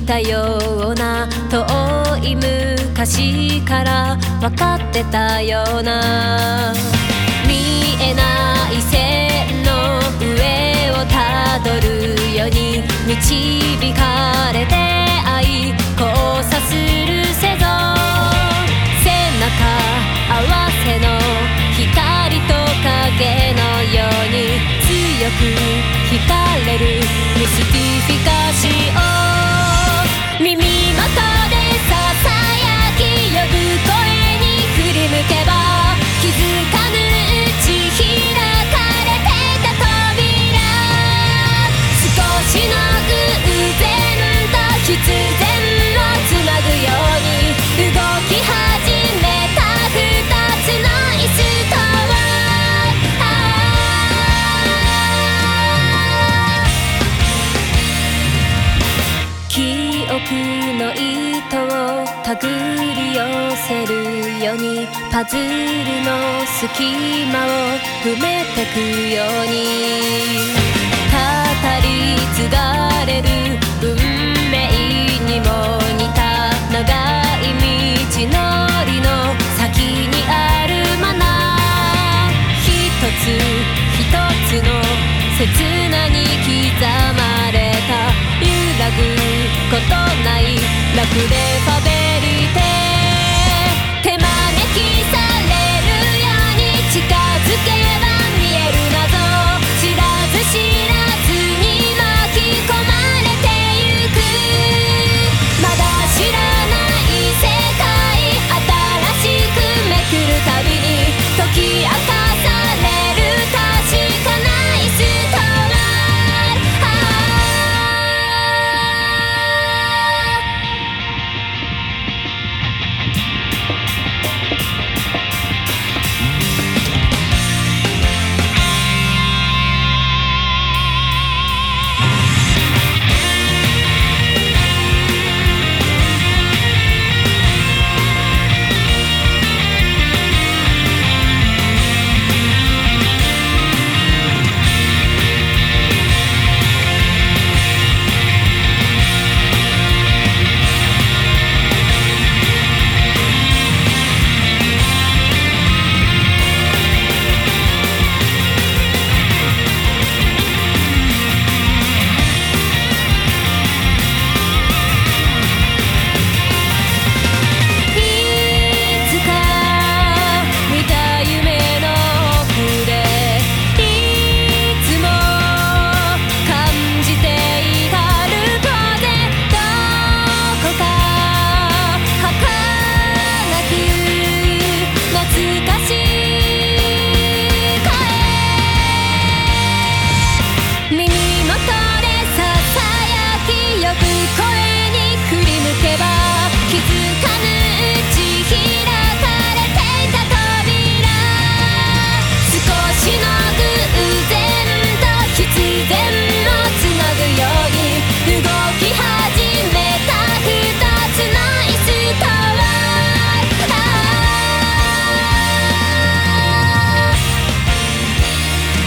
たような、遠い昔から分かってたような、見えない線の上をたどるように導かれて愛交差するせぞ、背中合わせの光と影のように強く惹かれるミスティフィカシオ、耳元でささやき呼ぶ声に振り向けば、気づかぬうち開かれていた扉、少しの偶然と必然をつなぐように動き始めた二つの椅子とは、記憶の糸を手繰り寄せるようにパズルの隙間を埋めてくように、語り継がれる運命にも似た長い道のりの先にあるもの、一つ一つの刹那に刻まれた揺らぐことないラクレファベリテ、手招きされるように近づけば見える謎、知らず知らずに巻き込まれてゆく、まだ知らない世界、新しくめくるたびに解き明かされる確かな椅子とは、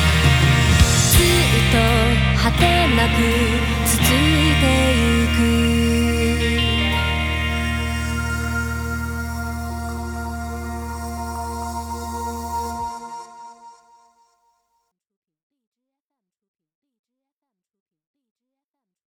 果てなく続いてゆく